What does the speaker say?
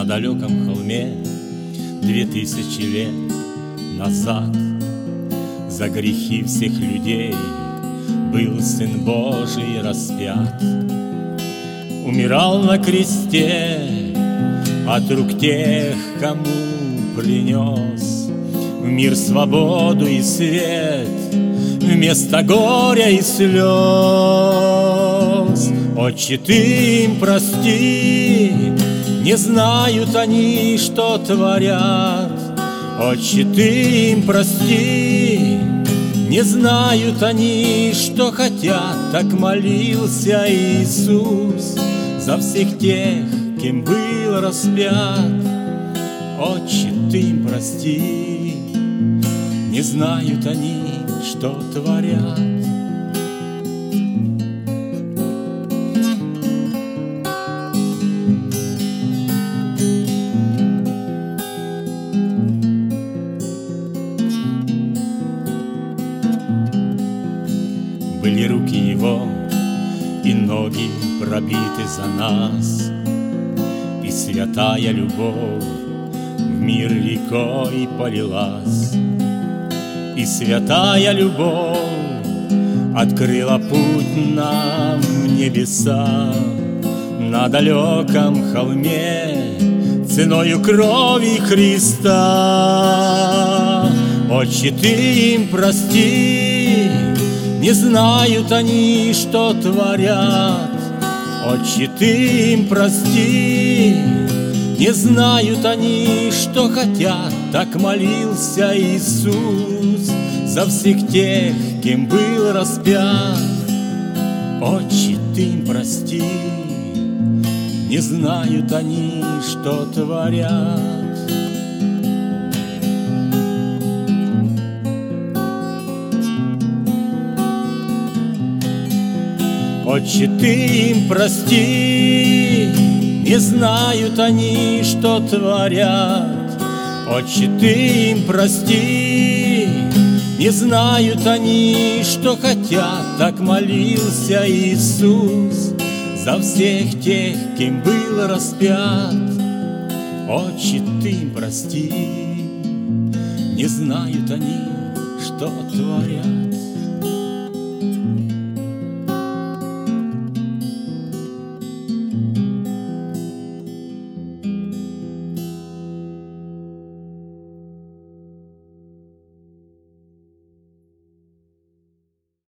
на далеком холме 2000 лет назад. За грехи всех людей был Сын Божий распят. Умирал на кресте от рук тех, кому принес в мир свободу и свет вместо горя и слез. Отче, ты им прости, не знают они, что творят. Отче, ты им прости, не знают они, что хотят. Так молился Иисус за всех тех, кем был распят. Отче, ты им прости, не знают они, что творят. Были руки его и ноги пробиты за нас, и святая любовь в мир рекой полилась. И святая любовь открыла путь нам в небеса. На далеком холме ценою крови Христа. Отче, ты им прости, не знают они, что творят. Отче, ты им прости, не знают они, что хотят. Так молился Иисус за всех тех, кем был распят. Отче, ты им прости, не знают они, что творят. Отче, ты им прости, не знают они, что творят. Отче, ты им прости, не знают они, что хотят. Так молился Иисус за всех тех, кем был распят. Отче, ты им прости, не знают они, что творят.